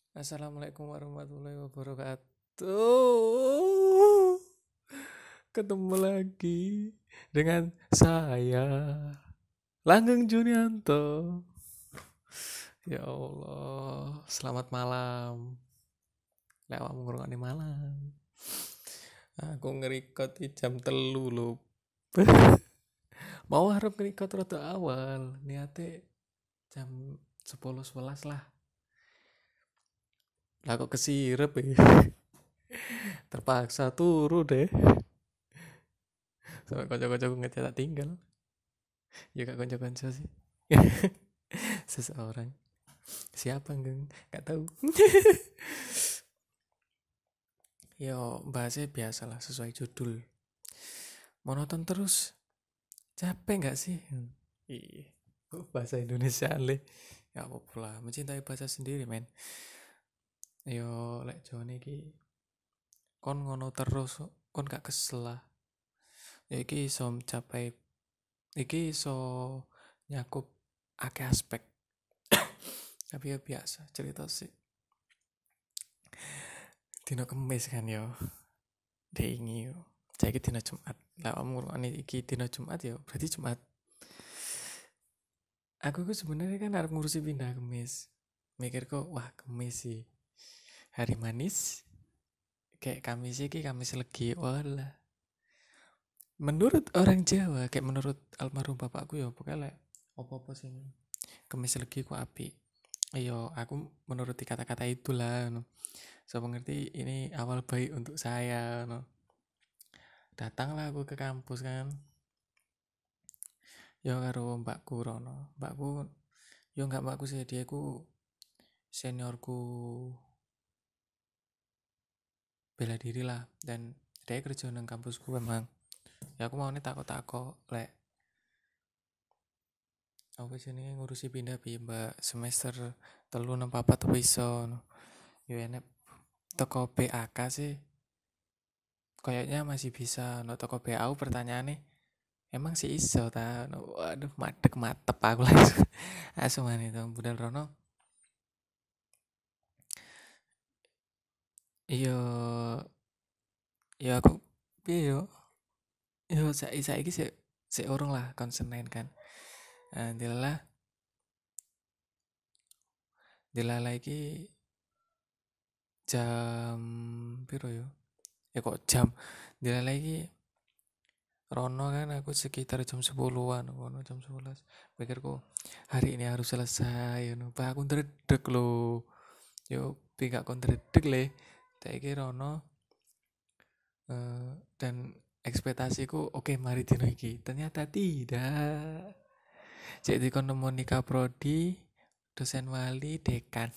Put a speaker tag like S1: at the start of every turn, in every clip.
S1: Assalamualaikum warahmatullahi wabarakatuh. Ketemu lagi dengan saya, Langgeng Junianto. Ya Allah, selamat malam. Lewat ngurungane malam. Aku ngerikot di jam telu lho. Mau harap ngerikot rada awal. Niate jam 10 11 lah. Lah kok kesirep ya. Terpaksa turu deh. Sampai kocok-kocok ngecat tak tinggal. Ya gak konco-konco sih. Seseorang. Siapa geng? Gak tahu. Yo, bahasnya biasalah sesuai judul. Monoton terus. Capek gak sih? Iya. Bahasa Indonesia le. Ya apa pula, mencintai bahasa sendiri, men. Yo, lek Jone iki kon ngono terus, kon gak kesel lah. Ya iki iso mencapai, iki iso nyakup akeh aspek. Tapi ya biasa, cerita sih. Dino Kemis kan yo. Dengi yo. Saya dina Jumat. Lah kamu iki dina Jumat ya, berarti Jumat. Aku sebenarnya kan harus ngurusi pindah Kemis. Mikir kok, wah Kemis sih. Hari manis. Kayak Kamis sih, Kamis legi. Walah. Menurut orang Jawa, kayak menurut almarhum bapakku ya, pokoknya like, apa-apa sih. Kemis legi ku api. Ayo, aku menuruti kata-kata itulah. No. So mengerti ini awal baik untuk saya. No. Datanglah aku ke kampus kan. Ya karo mbakku Rono. Mbakku yo enggak mbakku sih, dia ku seniorku bela diri lah, dan dia kerja nang kampusku memang. Ya aku mau nih takut lek apa jenenge ngurusi pindah pi mbak semester telu nang papat apa iso no. Yo enek toko BAK sih kayaknya masih bisa no, toko BAU pertanyaannya emang sih iso ta no, waduh madek matep aku langsung asuman itu budal Rono. Iya, ya aku piye yo saiki sik urung lah konsen kan. Nah, dilala iki jam piro yo? Ya kok jam dilala iki Rono kan aku sekitar jam 10-an, ngono jam 11. Pikirku hari ini harus selesai, ngono. Pak aku ndredeg lho. Yo pingak kon ndredeg le. Saiki Rono dan ekspektasiku oke mari dino iki. Ternyata tidak. Jadi kon nemu nikah prodi, dosen wali, dekan.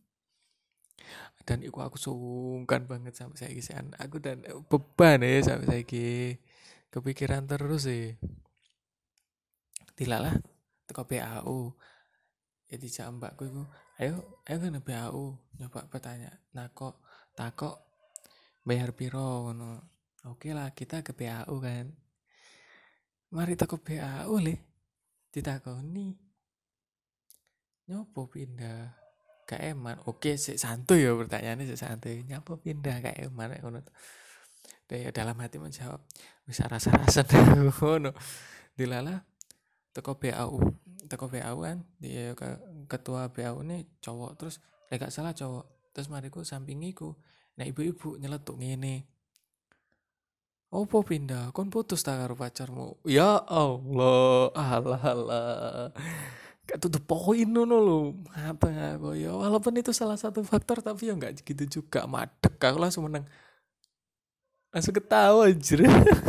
S1: Dan iku aku sungkan banget sampai saiki sih. Aku dan beban ya sampai saiki. Kepikiran terus sih. Dilalah teko BAU. Jadi jam mbakku iku, ayo kan BAU. Nyoba bertanya. Takok bayar piro ngono. Oke lah kita ke BAU kan. Mari teko BAU le. Ditakoni. Nyopo pindah gak eman. Oke, sik santuy ya pertanyaannya sik santuy. Nyopo pindah gak eman ngono. Dalam hati menjawab, bisa rasa-rasa ngono. Dilala teko BAU. Teko BAU kan, dia ketua BAU ini cowok terus gak salah cowok. Terus mariku sampingiku. Nah, ibu-ibu nyeletuk ngene. Opo pindah? Kon putus ta karo pacarmu? Ya Allah, alah alah. Gak to the point ngono lho. Mateng aku ya. Walaupun itu salah satu faktor tapi ya enggak gitu juga. Madek aku langsung menang. Langsung ketawa anjir.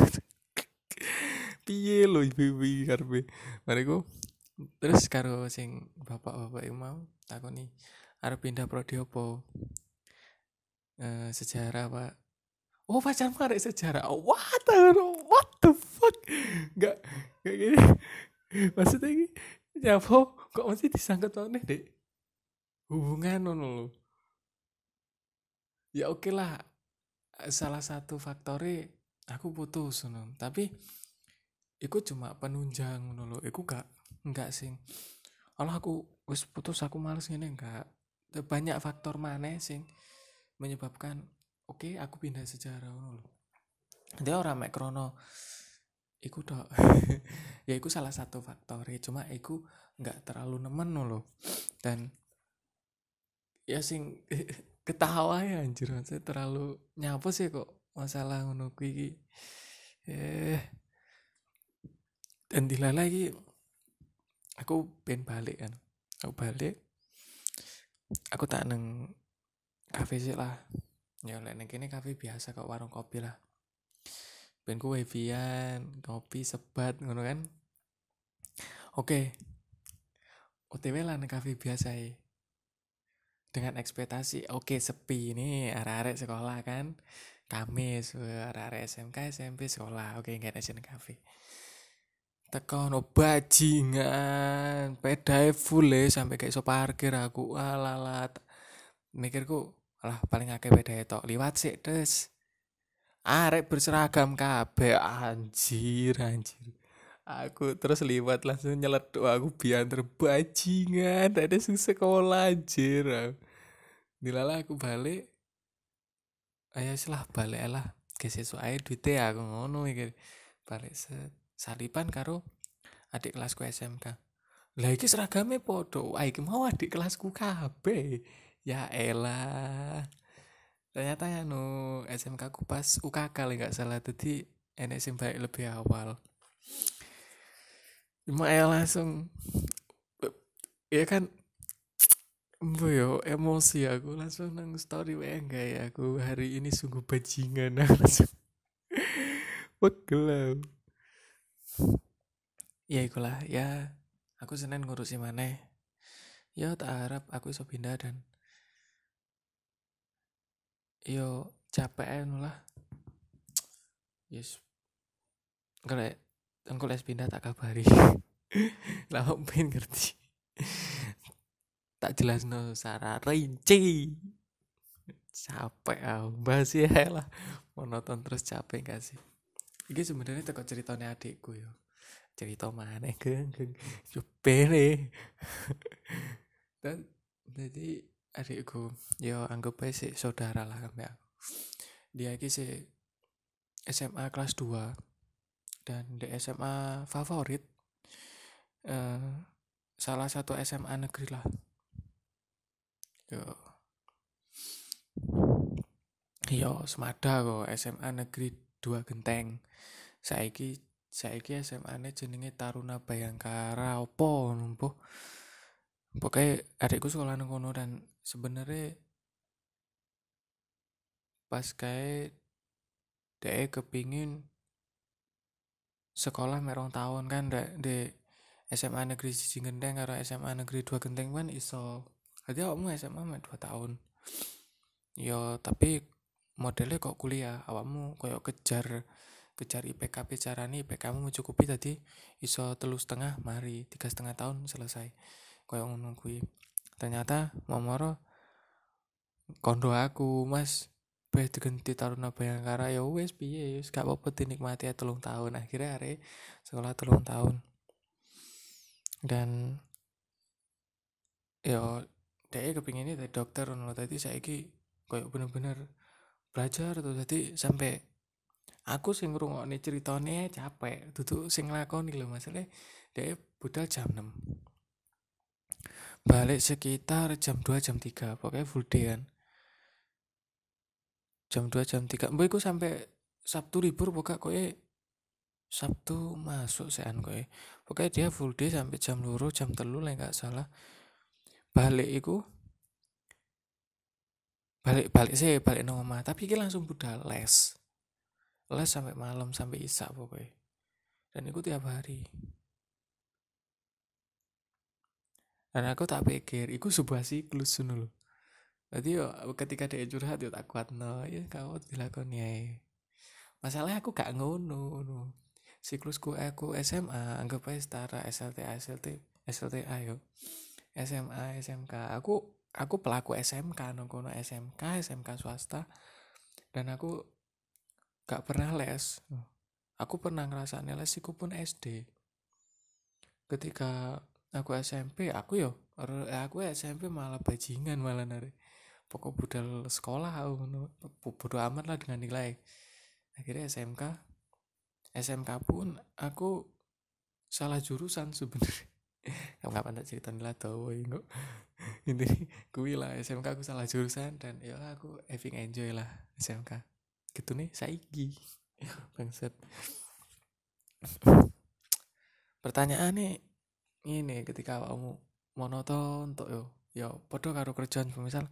S1: Piye lho ibu-ibu iki karepe. Mariku terus karo sing bapak-bapak yang mau takoni arep pindah prodi opo? Sejarah, Pak. Oh, pacarmu arek sejarah. Oh, what the fuck? Enggak gini. Maksudnya ini nyapo kok mesti disangkut nih, Dek? Hubungan ngono lho. Ya oke lah, salah satu faktornya aku putus ngono. Tapi iku cuma penunjang ngono lho. Iku enggak sing. Kalau aku wis putus aku males ngene enggak. banyak faktor maneh sing menyebabkan oke aku pindah sejarah ngono lho. Dia ora mek krono iku tok. Ya iku salah satu faktor cuma iku nggak terlalu nemen lho. Dan ya sing ketawa ya anjir maksudnya terlalu nyapa sih kok masalah ngono kuwi iki. Dan dilala iki aku pengen balik kan. Aku balik, aku tak neng kafe sih lah. Ya lek neng kene kafe biasa kok warung kopi lah. Ben ku wifi-an, kopi sebat ngono kan. Oke. OTW lah neng kafe biasa ya. Dengan ekspektasi oke sepi ini arek-arek sekolah kan. Kamis, arek-arek SMK, SMP sekolah. Oke, enggak ada kafe. Tekan bajingan, pedae full sampai kayak iso parkir aku. Alalat. Mikirku, alah paling akeh pedae tok liwat sik des. Arek berseragam kabeh anjir. Aku terus liwat langsung nyeletuk aku biar bajingan. Ada sing sekolah anjir. Dilala aku balik. Ayo lah balik lah. Kesesuk ae duite aku ngono iki. Balik salipan karo adik kelasku SMK. Lah iki seragame podo. Iki mau adik kelasku kabeh. Ya elah. Ternyata ya no SMK ku pas UKK lah gak salah. Jadi enek sing balik lebih awal. Cuma ya langsung ya kan yo emosi aku langsung nang story enggak ya aku hari ini sungguh bajingan langsung pegel. Ya ikulah ya aku Senin ngurusi maneh. Ya tak harap aku iso pindah dan yo capek lah. Yes. Engko les pindah tak kabari. Lah pengen ngerti. Tak jelasno secara rinci. Capek bahas ya lah. Monoton terus capek gak sih? Iki sebenarnya teko ceritanya adikku yo. Cerita maneh geng. Yo pene. Dan jadi adikku yo anggap aja sih saudara lah sampe aku. Dia iki sih SMA kelas 2 dan di SMA favorit salah satu SMA negeri lah. Yo semada kok SMA negeri 2 Genteng. Saiki SMA-ne jenenge Taruna Bayangkara opo numpuh. Pokoknya adikku sekolah nang kono dan sebenarnya pas kayak dia kepingin sekolah merong tahun kan di SMA negeri 1 Genteng karo SMA negeri 2 Genteng kan iso. Jadi awakmu SMA 2 tahun. Yo tapi modelnya kok kuliah, awakmu koyo kejar IPK carane IPK-mu mencukupi tadi iso 3,5 mari 3,5 tahun selesai. Koyo ngono kuwi. Ternyata momoro kondo aku, Mas. Digenti Taruna Bayangkara ya wis piye wis gak apa-apa dinikmati 3 tahun. Akhirnya arek sekolah 3 tahun. Dan yo dhek kepinginnya jadi dokter ngono tadi saiki koyo bener-bener belajar tuh tadi sampai aku sing ngrungokne ceritane capek, duduk sing nglakoni lho masalah dhek budal jam 6. Balik sekitar jam 2 jam 3, pokoknya full day kan. Jam 2 jam 3. Mbok iku sampai Sabtu libur pokoknya kowe Sabtu masuk sean kowe. Pokoknya dia full day sampai jam 2 jam 3 lah enggak salah. Balik iku balik nang omah, tapi iki langsung budal les sampai malam sampai isak pokoknya. Dan itu tiap hari. Dan aku tak pikir, itu sebuah siklus loh. Jadi yo ketika dia curhat yo tak kuat no, ya kau dilakoni ae. Masalahnya aku gak ngono no. Siklusku aku SMA anggap aja setara SLTA yo. SMA SMK. Aku pelaku SMK no kono SMK swasta. Dan aku gak pernah les. Aku pernah ngerasane les iku pun SD. Ketika aku SMP aku yo Aku SMP malah bajingan malah nari. Pokok budal sekolah aku bodo amat lah dengan nilai. Akhirnya SMK pun aku salah jurusan sebenarnya. Kapan tak cerita lah tau kok. Ini kui lah SMK aku salah jurusan dan ya aku having enjoy lah SMK. Gitu nih saiki. Bangsat. Pertanyaan nih ini ketika kamu monoton untuk yo podo karo kerjaan misal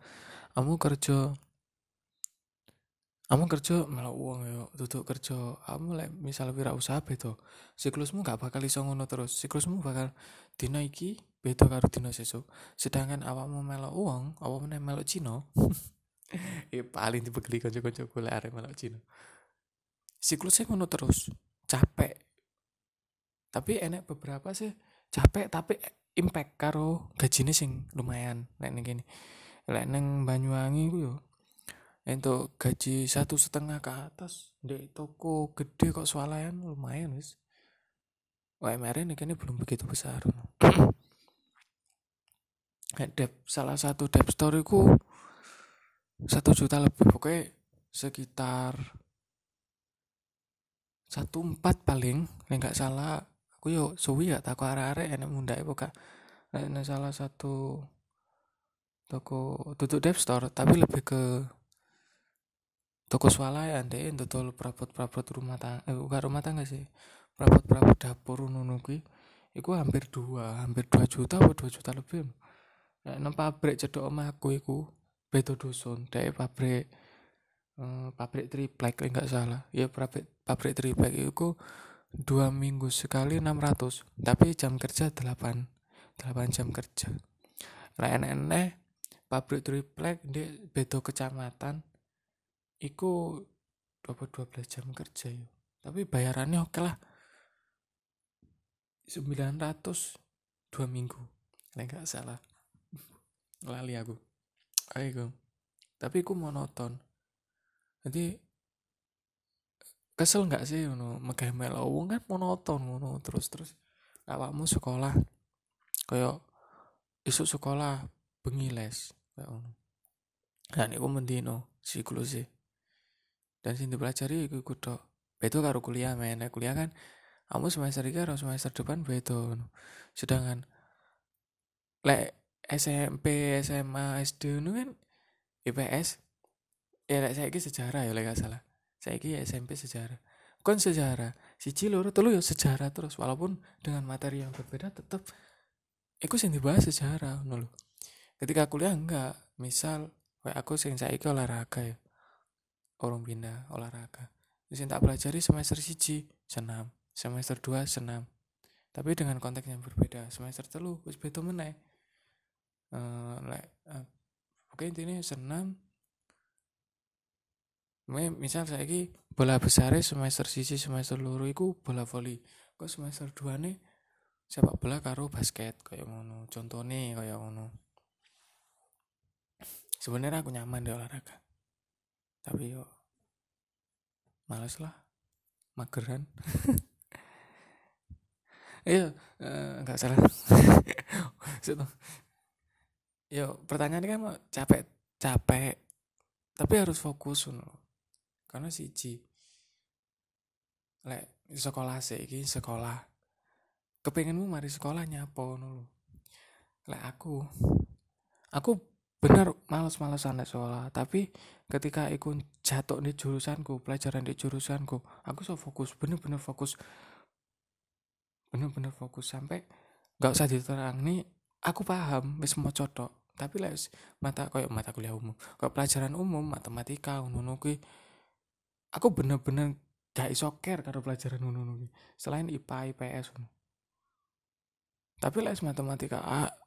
S1: kamu kerja malah uang yo duduk kerja kamu misal wirausaha beto siklusmu gak bakal iso ngono terus siklusmu bakal dina iki beda karo dina sesuk sedangkan awakmu melok uang awakmu melok Cina paling dibekeli kanca-kanca golek arek melok Cina siklusnya ngono terus capek tapi enek beberapa sih capek tapi impact karo gajine sing lumayan nek ning kene lek neng Banyuwangi ku yo untuk gaji 1,5 ke atas di toko gede kok swalayan lumayan wis. UMR ini kayaknya belum begitu besar. Salah satu debt store ku 1 juta lebih pokoknya sekitar 1,4 paling nggak salah aku yo suwi gak takut arek-arek enak mundake pokok nek salah satu toko tutup debt store tapi lebih ke toko swalayan deh dodol perabot-perabot rumah tangga bukan rumah tangga sih perabot-perabot dapur ngono kuwi iku hampir 2 juta atau 2 juta lebih nang pabrik cedok omahku iku beda dusun dek pabrik triplek enggak salah ya pabrik triplek iku 2 minggu sekali 600 tapi jam kerja 8 jam kerja lah enek pabrik triplek di beda kecamatan iku 12 jam kerja ya. Tapi bayarannya oke lah 900 2 minggu nggak salah lali aku ayo tapi aku monoton jadi kesel nggak sih megah melo wong kan monoton ngono terus awakmu sekolah kayak isuk sekolah bengi les kayak ngono dan iku mendino siklus sih dan sing dipelajari iku tok beda karo kuliah men kuliah kan kamu semester 3 karo semester depan beda sedangkan lek SMP SMA SD nu kan IPS ya lek saiki sejarah ya lek gak salah saiki SMP sejarah kon sejarah siji loro telu ya sejarah terus walaupun dengan materi yang berbeda tetap iku sing dibahas sejarah ngono lho ketika kuliah enggak misal kayak aku sing saiki olahraga ya orang pindah olahraga sing tak pelajari semester 1 senam semester 2 senam tapi dengan konteks yang berbeda semester 3 wis beda meneh oke intinya senam misal saiki bola besar semester 1 semester 2 iku bola voli kok semester 2 nih sepak bola karo basket kayak ngono contohnya kayak ngono sebenarnya aku nyaman di olahraga tapi yo males lah mageran iya nggak salah yo pertanyaannya kan capek tapi harus fokus karena siji lek sekolah iki sekolah kepengenmu mari sekolah nyapo ngono lek aku bener males-malesan nek sekolah tapi ketika ikut jatuh di jurusanku pelajaran di jurusanku aku so fokus bener-bener fokus sampai gak usah diterang nih aku paham wis mau codok tapi lek mata kuliah umum kayak pelajaran umum matematika ngono kuwi aku bener-bener gak iso care karo pelajaran ngono kuwi selain IPA IPS tapi lek matematika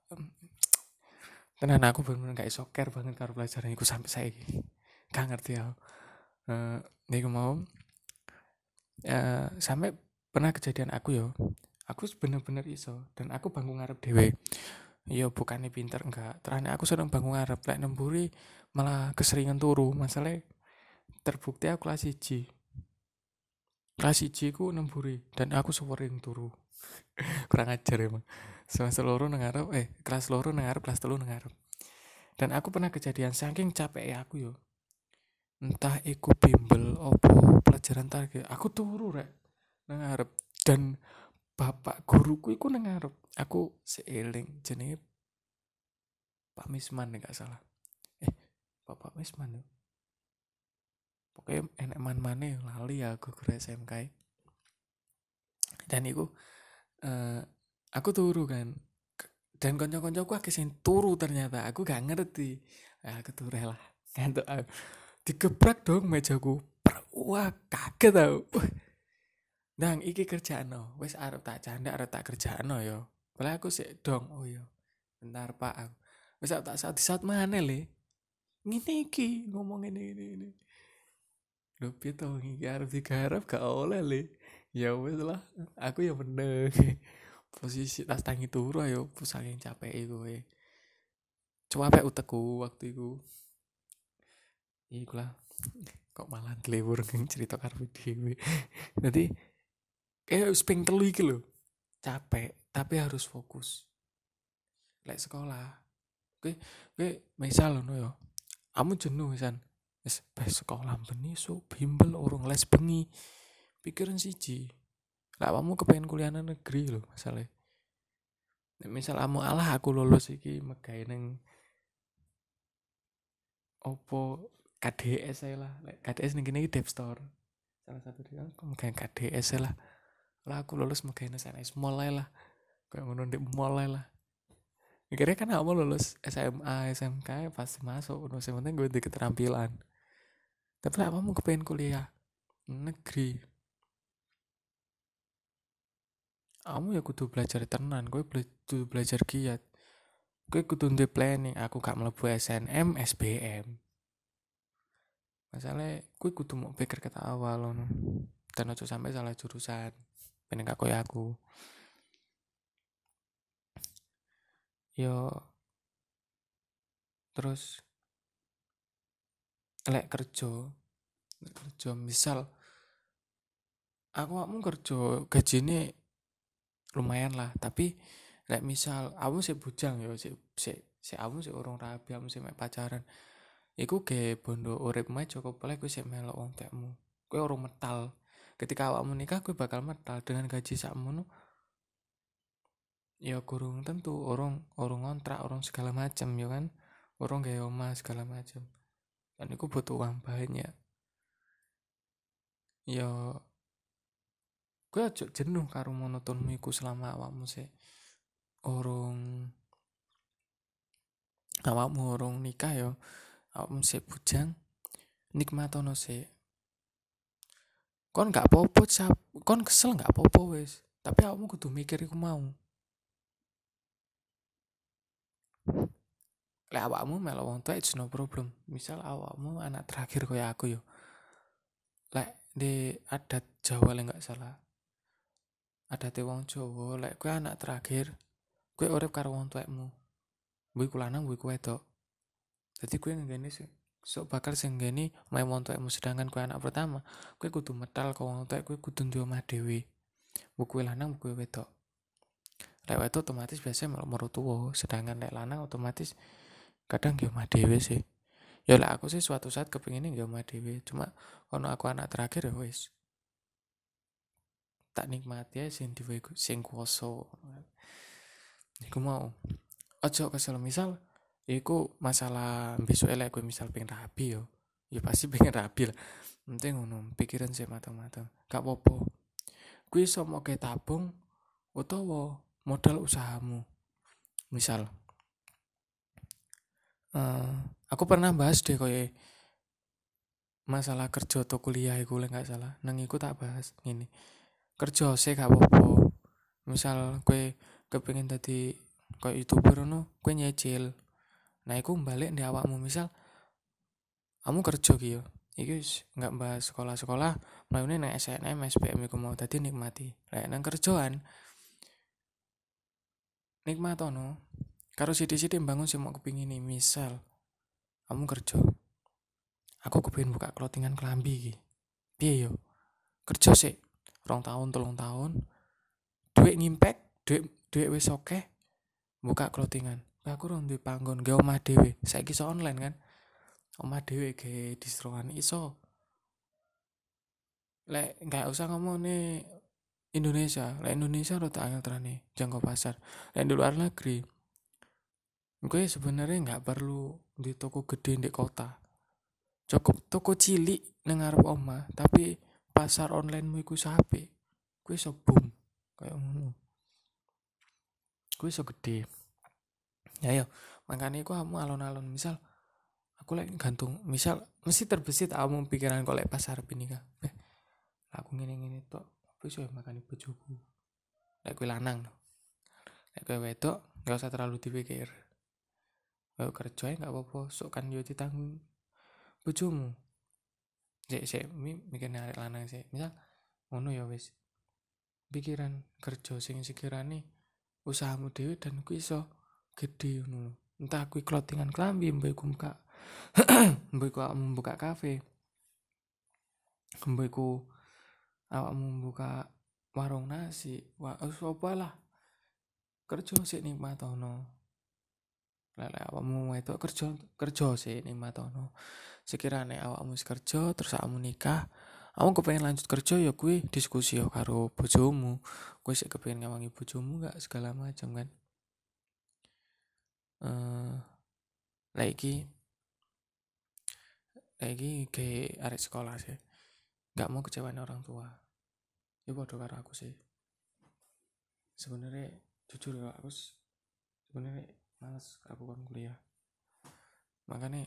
S1: tenan aku bener-bener gak iso care banget karo pelajaran iku sampai saiki gak ngerti aku niku mau sampai pernah kejadian aku bener-bener iso dan aku bangku ngarep dhewe yo bukannya pinter enggak terakhir aku sedang bangku ngarep lek nemburi malah keseringan turu masalah terbukti aku kelas 1 ku nemburi dan aku sering turu kurang ajar emang semester loro nang ngarep kelas loro nang ngarep, kelas telu nang ngarep. Dan aku pernah kejadian saking capek aku yo, entah iku bimbel opo pelajaran target, aku turu rek nang ngarep. Dan bapak guruku iku nang ngarep. Aku seeling jenenge Pak Misman nek gak salah. Bapak Misman yo. Pokoknya enek man-mane lali aku guru SMK. Dan iku aku turu kan. Dan kanca-kancaku akeh sing turu ternyata. Aku gak ngerti. Aku turu lah. Ngantuk aku. Digebrak dong mejaku. Wah, kaget aku. Nang iki kerjaano. Wis arep tak canda, arep tak kerjaano yo. Padahal aku sik dong. Oh yo. Bentar Pak aku. Wis tak saat mana le. Ngene iki ngomong ini. Lho piye to iki arep digarap gak oleh le. Ya wis lah. Aku ya bener. Posisi tas tangi turu ayo saking capek kowe. Coba apa utekku waktu itu. Iku lah. Kok malah dilebur cerita karo dhewe. Nanti kayak sping telu iki lho. Capek tapi harus fokus. Lek sekolah. Kowe misal ngono yo. Kamu jenuh misan. Wis sekolah bengi sok bimbel urung les bengi. Pikiran siji. Lah kamu kepengen kuliah nang negeri lho masalah. Misal kamu alah aku lulus iki megawe nang opo KDS saya lah. KDS ning kene iki Dev Store. Salah satu dia aku megawe KDS lah. Lah aku lulus megawe nang SNS mulai lah. Kayak ngono ndek mulai lah. Mikirnya kan aku lulus SMA, SMK pasti masuk. Udah penting gue di keterampilan. Tapi lah kamu kepengen kuliah negeri. Kamu ya kudu belajar tenan, gue kudu belajar giat. Gue kudu ndek planning, aku gak mlebu SNM, SBM. Masalahnya gue kudu mau pikir kata awal loh. Dan aja sampai salah jurusan. Pengen gak koyo aku. Yo terus lek kerja misal aku mau kerja gajine lumayan lah, tapi lek misal aku sih bujang yo si aku sih orang rabi, aku sih mek pacaran. Iku ge bondo urip mae cukup oleh kowe sik melok wong tekmu. Kowe orang metal. Ketika awakmu nikah kowe bakal metal dengan gaji sakmono. Ya kurang tentu orang ngontrak, orang segala macam ya kan. Orang gawe omah segala macam. Dan iku butuh uang banyak. Ya kowe aja jenuh karo monotonmu iku selama awakmu sik orang nikah ya. Awakmu sik bujang nikmatono sik. Kon gak apa-apa, kon kesel gak apa-apa wis. Tapi awakmu kudu mikir iku mau. Lek awakmu melok wong tua it's no problem. Misal awakmu anak terakhir kaya aku yo. Lek di adat Jawa lek gak salah. Adate wong Jawa lek kowe anak terakhir, kowe urip karo wong tuamu. Mbok iku lanang, mbok iku wedok. Dadi kowe ngene sok bakal sing ngene omahe wong tuamu, sedangkan kowe anak pertama, kowe kudu metal ke wong tua, kowe kudu duwe omah dhewe. Mbok kowe lanang, mbok kowe wedok. Lek wedok otomatis biasanya melok mertua, sedangkan lek lanang otomatis kadang ge omah dhewe sih. Ya lek aku sih suatu saat kepengine ge omah dhewe, cuma ono aku anak terakhir ya wis. Tak nikmati ae sing diwe sing kuwasa. Iku mau. Ojo kesel misal iku masalah besok elek gue misal pengen rapi yo. Ya pasti pengen rapi lah. Penting ngono, pikiran sih matang-matang. Gak apa-apa. Kuwi iso mau ke tabung utawa modal usahamu. Misal aku pernah bahas deh koyo masalah kerja atau kuliah iku lek gak salah. Nang iku tak bahas ngene. Kerja sih gak apa-apa. Misal kowe kepengin dadi koyo YouTuber ngono, kowe nyicil. Nah, iku balik di awakmu misal kamu kerja ki yo. Iki nggak bahas sekolah-sekolah, mlaune nang SNM, SBM iku mau dadi nikmati. Lek nang kerjaan nikmatono. Karo sithik-sithik bangun sing mau kepingin nih, misal kamu kerja. Aku kepengin buka clothingan kelambi iki. Piye yo? Kerja sik 2 tahun, 3 tahun. Duit ngimpek, duit wis akeh. buka clothingan. Aku ora duwe panggon, ge omah dhewe. Saiki iso online kan. Omah dhewe ge distroan iso. Lek enggak usah ngomong nih Indonesia, lek Indonesia rada angel terane jangkau pasar. Lek di luar negeri, gue sebenarnya nggak perlu di toko gede di kota. Cukup toko cilik nang ngarep omah, tapi pasar online mu iku sapi. Gue iso boom kayak ngono. Gue iso gede. Ya yo, makanya aku kamu alon-alon misal aku lek gantung, misal mesti terbesit kamu pikiran kok lek pasar ini kah. Aku ngene-ngene tok, apa iso makani bojoku. Lek gue lanang. Lek gue wedok, gak usah terlalu dipikir. Kalau kerja nggak apa-apa, sok kan yo ditanggung bojomu. Sik mikir arek lanang sih. Misal ngono ya wis. Pikiran kerja sing sekirane usahamu dhewe dan ku iso gede ngono. Entah kuwi clothingan klambi, mbok iku buka mbok iku awakmu buka kafe. Mbok iku awakmu buka warung nasi. Wah, apa lah. Kerja sik nikmatono. Lek awakmu itu kerja sik nikmatono. Sekirane awakmu kerja terus awakmu nikah, awakmu kepengen lanjut kerja ya kuwi diskusi yo karo bojomu. Kowe sik kepengen ngawangi bojomu enggak segala macam kan. Lagi ke arek sekolah sih. Enggak mau kecewain orang tua. Ya bodoh karo aku sih. Sebenarnya jujur ya aku sebenarnya males aku kan kuliah. Makanya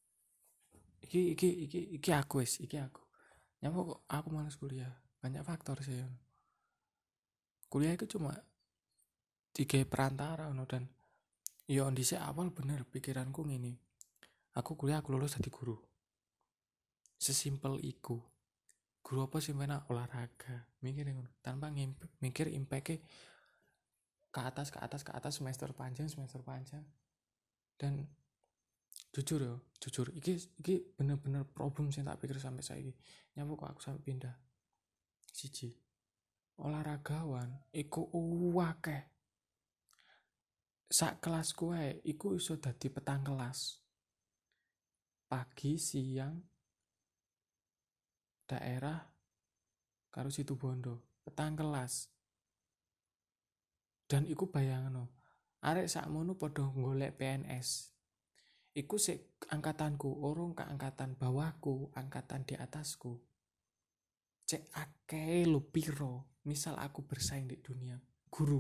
S1: iki aku. Nyapa kok aku males kuliah. Banyak faktor sih. Kuliah itu cuma tiga perantara dan yo dhisik awal bener pikiranku ngene. Aku kuliah aku lulus jadi guru. Sesimpel iku. Guru apa sih penak olahraga. Mikir ngono tanpa mikir impact ke atas semester panjang. Dan jujur iki bener-bener problem sih tak pikir sampai saiki. Nyapa kok aku sampai pindah. Siji. Olahragawan iku akeh. Sak kelasku ae iku iso dadi petang kelas. Pagi, siang, daerah karo Situbondo, petang kelas. Dan iku bayangno, arek sakmono padha golek PNS. Iku sik angkatanku, urung ke angkatan bawahku, angkatan di atasku. Cek akeh lho piro. Misal aku bersaing di dunia guru.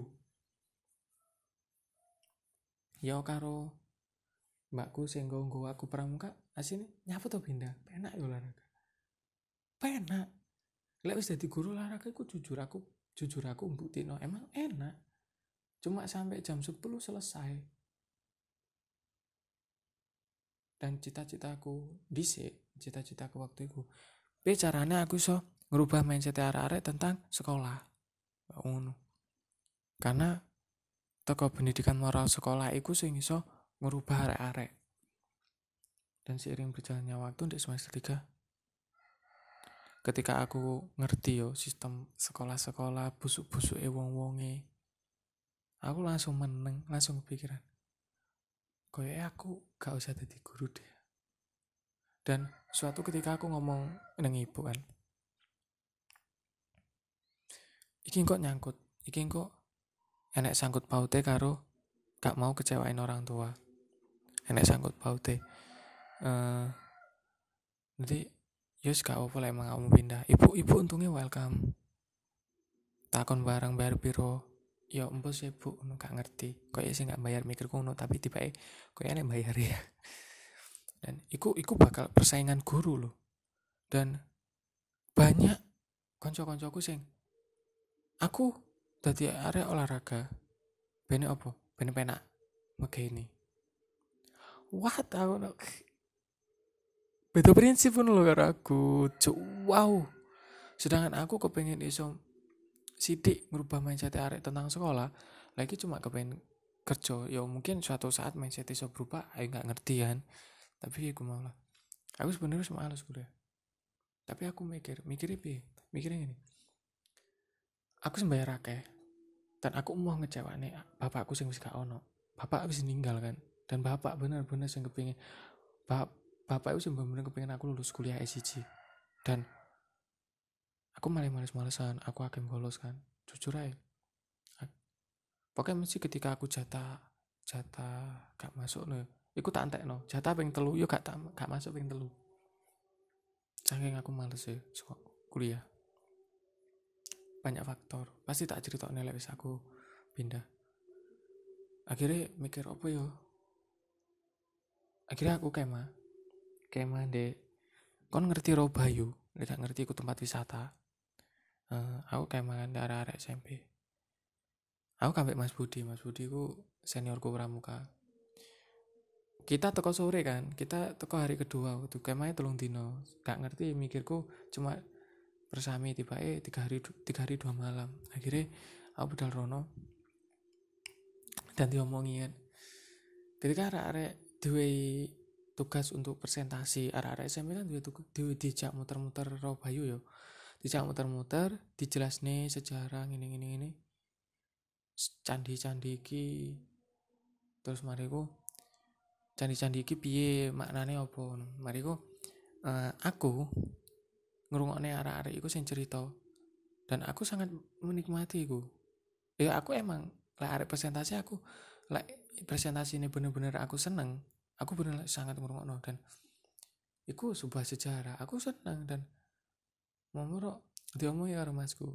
S1: Ya karo mbakku sing nggo aku pramuka, asine nyapa to pindah. Penak yo olahraga. Penak. Lek wis dadi guru olahraga iku jujur aku mbuktino emang enak. Cuma sampai jam 10 selesai. Dan cita-citaku waktu itu. Caranya aku iso ngerubah mindset arek-arek tentang sekolah. Ngono. Karena toko pendidikan moral sekolah iku sing iso ngerubah arek-arek. Dan seiring berjalannya waktu di semester 3 ketika aku ngerti yo sistem sekolah-sekolah busuk-busuke wong-wonge, aku langsung meneng, langsung kepikiran. Koyoknya aku gak usah jadi guru deh. Dan suatu ketika aku ngomong nang ibu kan, iki kok nyangkut, iki kok enek sangkut paute karo gak mau kecewain orang tua. Enek sangkut paute. Jadi yus gak apa-apa lah emang kamu pindah. Ibu untungnya welcome. Takon bareng bayar piro. Ya empus ya bu, gak ngerti. Kok sih gak bayar mikir kuno, tapi tiba kok enek bayar ya. Dan iku bakal persaingan guru loh. Dan banyak konco-koncoku sing aku dadi area olahraga. Bene apa? Bene penak. Megeni. What aku beda prinsip pun lho karo aku. Wow. Sedangkan aku kepengen iso sidik merubah mindset arek tentang sekolah. Lagi cuma kepengen kerja. Ya mungkin suatu saat mindset iso berubah. Ayo gak ngerti kan. Tapi aku mau lah. Aku sebenarnya males kuliah. Tapi aku mikirnya gini. Aku sembayar akeh dan aku mau ngecewane bapakku sing wis gak ono. bapak habis meninggal kan, dan bapak bener-bener yang kepingin bapak itu bener-bener kepingin aku lulus kuliah S1, dan aku malah males-malesan, aku akan bolos kan, jujur aja. Pokoknya mesti ketika aku jatah jatah gak masuk nih, iku tak entekno jatah ping telu yo gak masuk ping telu, saking aku males ya kuliah. Banyak faktor, pasti tak cerita nilai wis aku pindah. Akhirnya mikir apa yo, akhirnya aku kemah dek, kon ngerti Robayu, tidak ngerti ku tempat wisata. Aku kemah kan arek-arek SMP. Aku kambek Mas Budi ku seniorku pramuka. Kita teko sore kan, kita teko hari kedua waktu kemahnya 3 dino. Gak ngerti, mikirku cuma bersami tiba 3 hari 2 malam. Akhirnya aku budal rono dan diomongin. Ketika arek-arek duwe tugas untuk presentasi, arek-arek SMP kan duwe dijak muter-muter Robayu yo. Dijak muter-muter, dijelasne sejarah ngene candi-candi iki. Terus mariku candi-candi iki piye, maknane apa. Mariku aku ngrungokne arek-arek iku sing cerita, dan aku sangat menikmati iku. Ya aku emang lek arek presentasi, aku lek presentasi ini bener-bener aku seneng, aku bener sangat ngrungokno, dan iku sebuah sejarah, aku seneng. Dan momoro diomongi karo masku,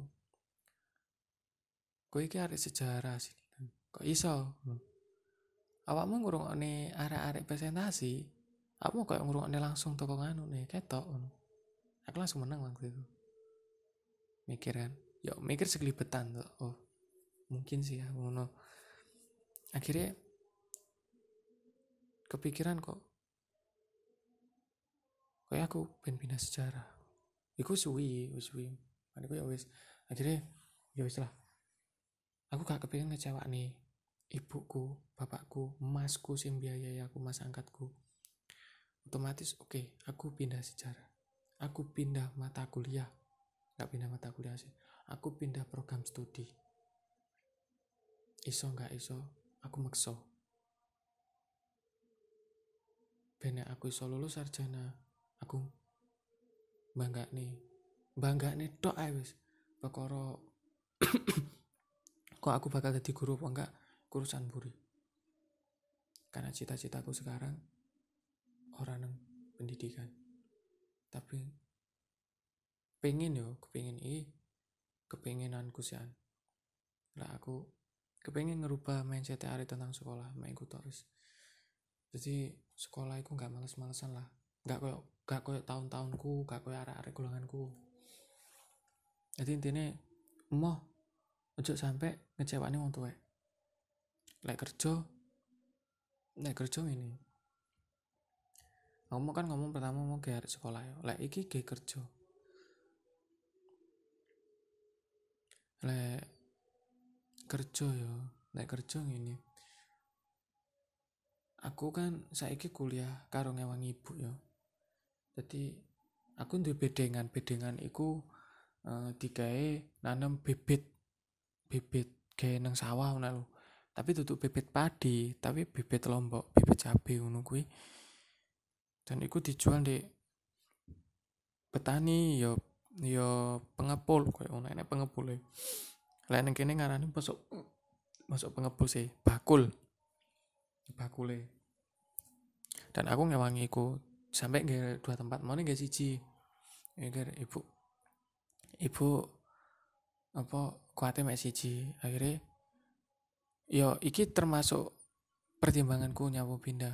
S1: kowe iki arek sejarah sih, kok iso awakmu ngrungokne arek-arek presentasi, aku kayak ngrungokne langsung toko nganu nih ketok. Aku langsung menang waktu itu, mikir kan, yo mikir segelibetan tuh, oh mungkin sih ya ngono. Akhirnya kepikiran kok kayak aku pengen pindah sejarah. Iku suwi. Maniku ya wis. Akhirnya ya wis lah. Aku gak kepingin ngecewa nih ibuku, bapakku, emasku sing biayai aku, mas angkatku. Otomatis oke, aku pindah sejarah. Aku pindah mata kuliah. Gak pindah mata kuliah sih. Aku pindah program studi. Iso gak iso, aku makso. Bene aku iso lulus sarjana, aku bangga nih tok ae wis. Perkara kok aku bakal jadi guru apa enggak, urusan buri. Karena cita-citaku sekarang orang nang pendidikan. Tapi kepinginanku sih. Lah aku kepingin ngerubah mindset hari tentang sekolah, mek iku tok wis. Jadi sekolah iku enggak males-malesan lah. Enggak koyo tahun-tahunku, enggak koyo arek-arek golonganku. Jadi intinya emoh ojo sampai ngecewani wong tuwek. Lek kerja ini. Ngomong pertama mau ke arek sekolah ya. Lek iki ge kerja. Lek kerja ngene. Aku kan saiki kuliah karo ngewangi ibu ya. Jadi aku duwe bedengan iku digawe nanam bibit gawe nang sawah ngono lho. Tapi tutup bibit padi, tapi bibit lombok, bibit cabe ngono kuwi. Dan iku dijual di petani yo pengepul koyo ngono, enek pengepule. Lah ning kene ngarani masuk pengepul sih, bakule. Dan aku ngewangi iku sampai nggak 2 tempat, mau nih nggak siji. Nggak ibu apa kuatnya mek siji. Akhirnya yo iki termasuk pertimbanganku nyawa pindah.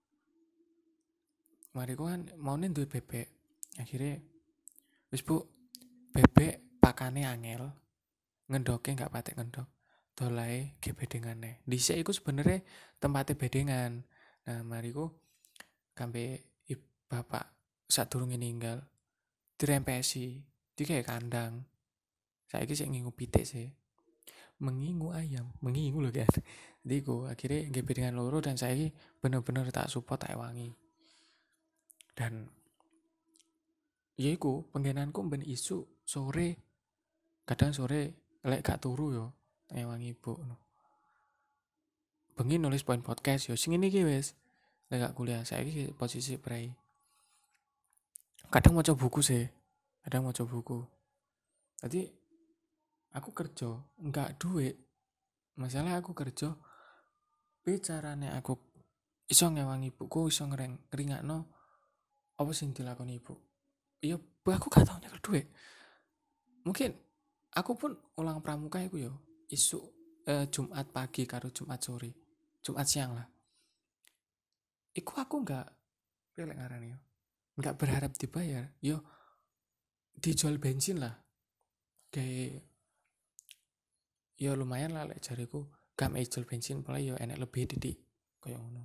S1: Mari ku kan mau nih duit bebek. Akhirnya wis bu, bebek pakane angel, ngendoke nggak patek ngendok. Dolai ge bedengane. Dhisik iku sebenarnya tempatnya bedengan. Nah, mariku kambe bapak sadurunge ninggal dirempesi, dikae kandang. Saiki sik ngingu pitik sih. Mengingu ayam, mengingu lho kan. Jadi ku akhirnya nggih bedengan loro, dan saiki bener-bener tak support, tak wangi. Dan ya iku penggenanku ben isu sore, kadang sore lek gak turu yo ngewangi ibu no. bengi nulis poin podcast yo sing ini iki wis lek gak kuliah saiki posisi prei. Kadang maca buku sih, kadang maca buku. Jadi aku kerja enggak duit. Masalah aku kerja bicarane aku iso ngewangi ibuku, iso ngeringakno apa sing dilakoni ibu. Iya, aku gak tau nyekel duit. Mungkin aku pun ulang pramuka iku yo isu Jumat pagi karo Jumat sore. Jumat siang lah. Iku aku enggak pelek ngarani yo. Enggak berharap dibayar. Yo dijual bensin lah. Kayak yo lumayan lah lek jariku gak jual bensin pola yo enek lebih didik kaya ngono.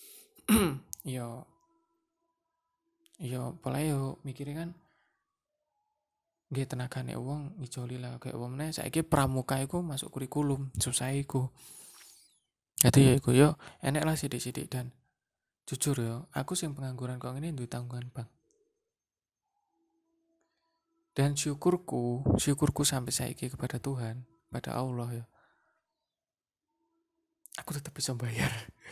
S1: yo pola yo mikirnya kan nggih tenagane wong ngijoli lah kayak wong meneh saiki pramuka iku masuk kurikulum susah iku. Jadi ya iku yo enek lah sidik-sidik dan jujur yo aku sing pengangguran kok ngene duwe tanggungan bank. Dan syukurku sampai saiki kepada Tuhan, pada Allah ya. Aku tetap bisa bayar.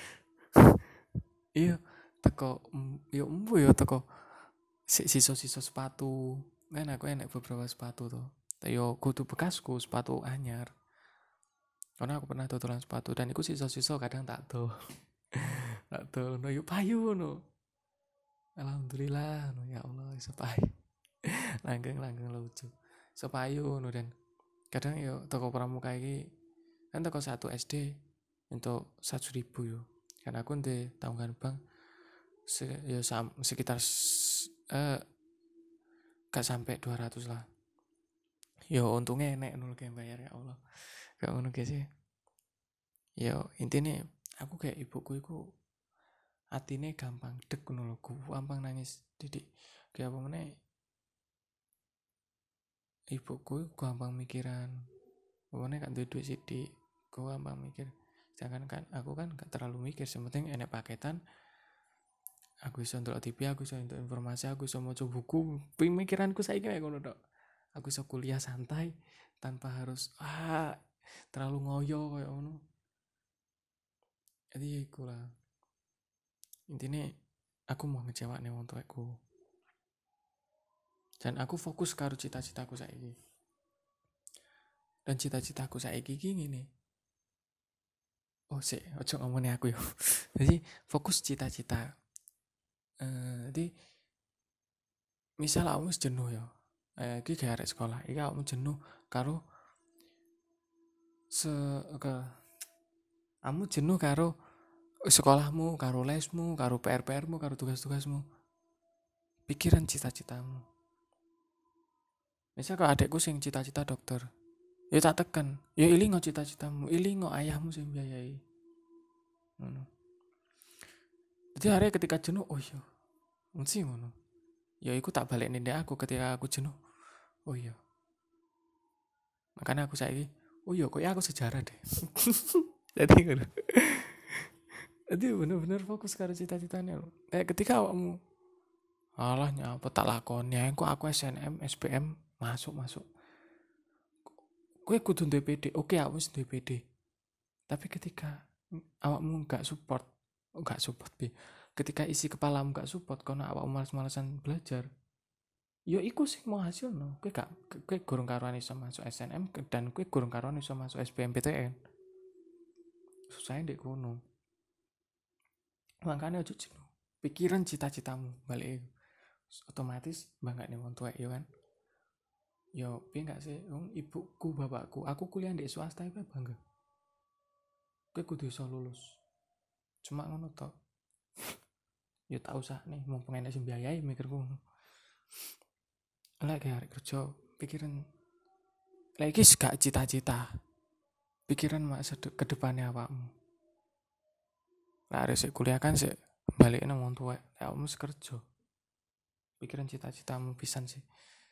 S1: Iya, teko yo embu yo teko sisa-sisa sepatu. Kan aku enek beberapa sepatu tuh. Yo kudu bekasku sepatu anyar. Karena aku pernah tutulan sepatu dan iku sisa-sisa kadang tak do. Tak do no yo payu no. Alhamdulillah no ya Allah iso payu. Langgeng lucu. Iso payu no dan kadang yo toko pramuka iki kan toko 1 SD untuk 1.000 yo. Kan aku ndek tanggungan bank sekitar gak sampai 200 lah. Yo untungnya enek nul kayak bayar ya Allah. Gak ngono sih. Yo intinya aku kayak ibuku iku atine gampang dek ngono lho, gampang nangis didik. Kayak apa meneh ibuku gampang mikiran. Pokoknya kan duit sidik, gue gampang mikir. Sedangkan kan aku kan gak terlalu mikir, sementing enek paketan. Aku iso ndelok TV, aku iso entuk informasi, aku iso maca buku. Pemikiranku saiki kayak ngono tok. Aku iso kuliah santai tanpa harus terlalu ngoyo kayak ngono. Jadi ya iku lah. Intinya aku mau ngejawabne wong tuaku. Dan aku fokus karo cita-citaku saiki. Dan cita-citaku saiki iki ngene. Ojo ngomongin aku yo. Jadi fokus cita-cita. Jadi misal aku wis jenuh ya. Iki gak arek sekolah, iki aku jenuh karo kamu jenuh karo sekolahmu, karo lesmu, karo PR-PRmu, karo tugas-tugasmu. Pikiran cita-citamu. Misal kalau adekku sing cita-cita dokter, ya tak tekan, ya ilingo cita-citamu, ilingo ayahmu sing biayai. Ngono. Jadi hari ketika jenuh, oh iya, mesti ngono. Ya iku tak balik nindek aku ketika aku jenuh. Oh iya. Makanya aku saiki, oh iya kok aku sejarah deh. Jadi ngono. Jadi bener-bener fokus karo cita-citanya. Ketika awakmu alah nyapa tak lakoni aku SNM, SPM masuk. Kowe kudu duwe PD. Oke, aku wis duwe PD. Tapi ketika awakmu enggak support bi. Ketika isi kepalamu enggak support karena awakmu malas-malasan belajar, yo iku sing mau hasilno. Kowe gurung karuan iso masuk SNM dan kowe gurung karuan iso masuk SBMPTN. Susah ndek kono. Makanya ojo jenuh. Pikiran cita-citamu balik otomatis banggane wong tuwek yo kan. Yo piye enggak sih wong ibuku, bapakku, aku kuliah di swasta iku bangga. Kowe kudu iso lulus. Cuma ngono tok. Ya tak usah nih mumpung enek sing biayai mikirku. Lek arek kerja pikiran lagi gak cita-cita. Pikiran masa ke depannya awakmu. Lah arek sik kuliah kan sik balik nang wong tuwek. Ya awakmu kerja. Pikiran cita-citamu pisan sih.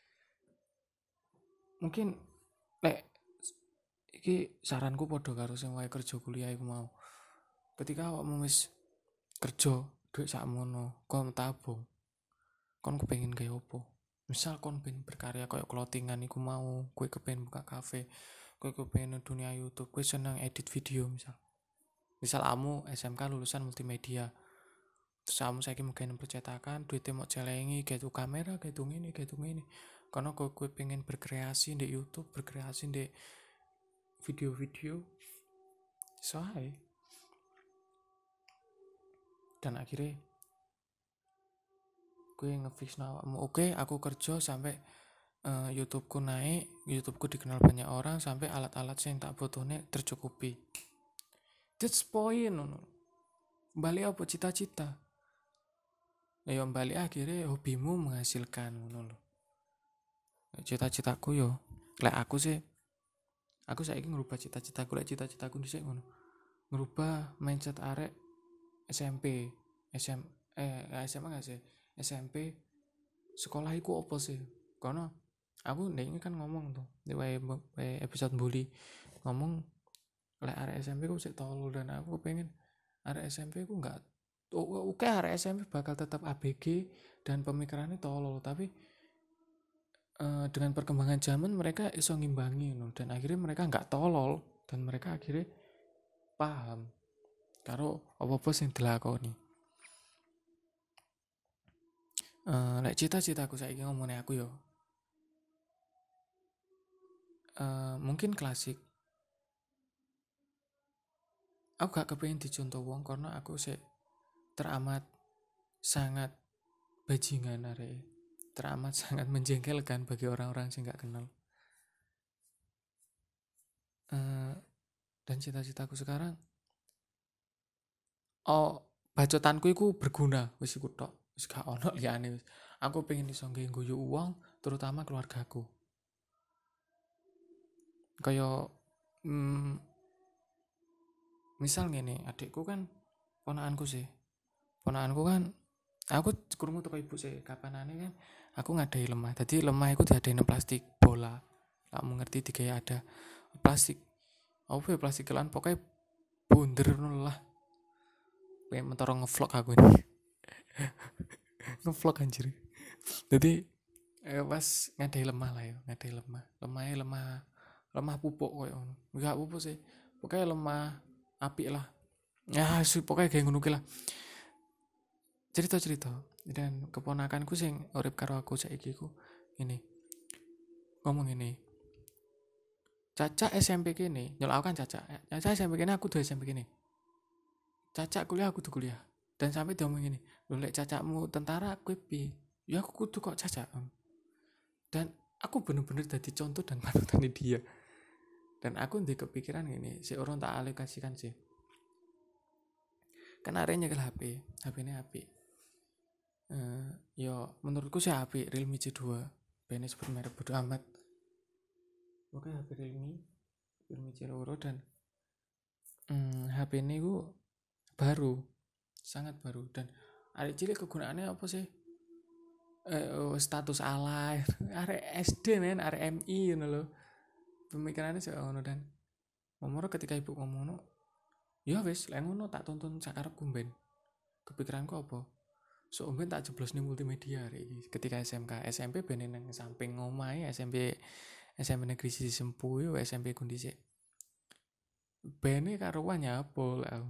S1: Mungkin lek iki saranku padha karo sing wae kerja kuliah iku mau. Ketika awakmu wis kerja duit sakmono, kon tabung. Kon kepengin gawe opo? Misal kon pengen berkarya kayak clothingan iku mau, kowe kepengin buka kafe, kowe kepengin dunia YouTube, kowe seneng edit video misal. Misal kamu SMK lulusan multimedia, terus kamu saiki mungkin percetakan, duitnya mau celengi, kayak tuh kamera, kayak tuh ini. Karena gue pengen berkreasi di YouTube, berkreasi di video-video, soalnya. Dan akhirnya gue ngefix awakmu, oke, aku kerja sampai YouTubeku naik, YouTubeku dikenal banyak orang, sampai alat-alat yang tak butuhnya tercukupi. That's point, no. Balik apa cita-cita? Ya balik akhirnya hobimu menghasilkan, no. Cita-citaku yo, lek aku saiki ngerubah cita-citaku, lek cita-citaku dhisik ngono. Ngerubah mindset arek SMP, SMA gak sih? SMP sekolah iku apa sih? Karena aku ndek ini kan ngomong tuh di episode bully, ngomong lek arek SMP ku sik tolol, dan aku pengen arek SMP ku enggak oke, arek SMP bakal tetap ABG dan pemikirannya tolol, tapi dengan perkembangan zaman mereka iso ngimbangi, no, dan akhirnya mereka nggak tolol dan mereka akhirnya paham karo apa-apa sing dilakoni. Lek cita-citaku saiki ngomongnya aku yo, mungkin klasik. Aku gak kepengen dicontoh wong karena aku sih teramat sangat bajingan arek, teramat sangat menjengkelkan bagi orang-orang yang gak kenal. Dan cita-citaku sekarang, bacotanku iku berguna, wis iku tok, wis gak ono liyane wis. Aku pengen iso ngguyu uang, terutama keluargaku. Kayak misal ngene, adikku kan ponakanku kan, aku krungu teko ibu sih, kapanane kan aku ngadai lemah. Tadi lemah iku diadain plastik bola. Kamu ngerti digawe ada plastik. Apa ya plastik kelan, pokoknya bunder lah. Pengen mentoro ngevlog aku ini. Ngevlog anjir. Jadi pas ngadai lemah lah ya, ngadai lemah. Lemah pupuk koyo ngono. Enggak pupuk sih. Pokoknya lemah apik lah. Ya, pokoknya kayak ngono lah. Cerita-cerita, dan keponakanku sing urip karo aku saiki ku ini. Ngomong ini. Caca SMP kene, nyol aku kan Caca SMP kene, aku tuh SMP kene. Caca kuliah, aku tuh kuliah. Dan sampai dia ngomong gini, lho lek cacakmu tentara, aku piye? Ya aku kudu kok Caca. Dan aku bener-bener jadi contoh dan panutan dia. Dan aku ndek kepikiran gini, si orang tak alokasikan sih. Kan arenya ke HP ini HP. Yo menurutku sih HP Realme C2. Bene sebut merek bodo amat. Oke, HP Realme C2 dan HP ini gue baru, sangat baru, dan arek cilik kegunaannya apa sih? Status alay, arek SD men, arek MI ngono lho. Pemikirannya sih ngono, dan momoro ketika ibu ngomong, ya wis, lek ngono tak tonton sakarepku ben. Kepikiranku apa? So ben tak jeblos ning multimedia arek iki. Ketika SMK, SMP ben nang samping omahe, SMP Negeri Sisi Sempu yo, SMP ku dhisik. Bene karuan nyapo lah.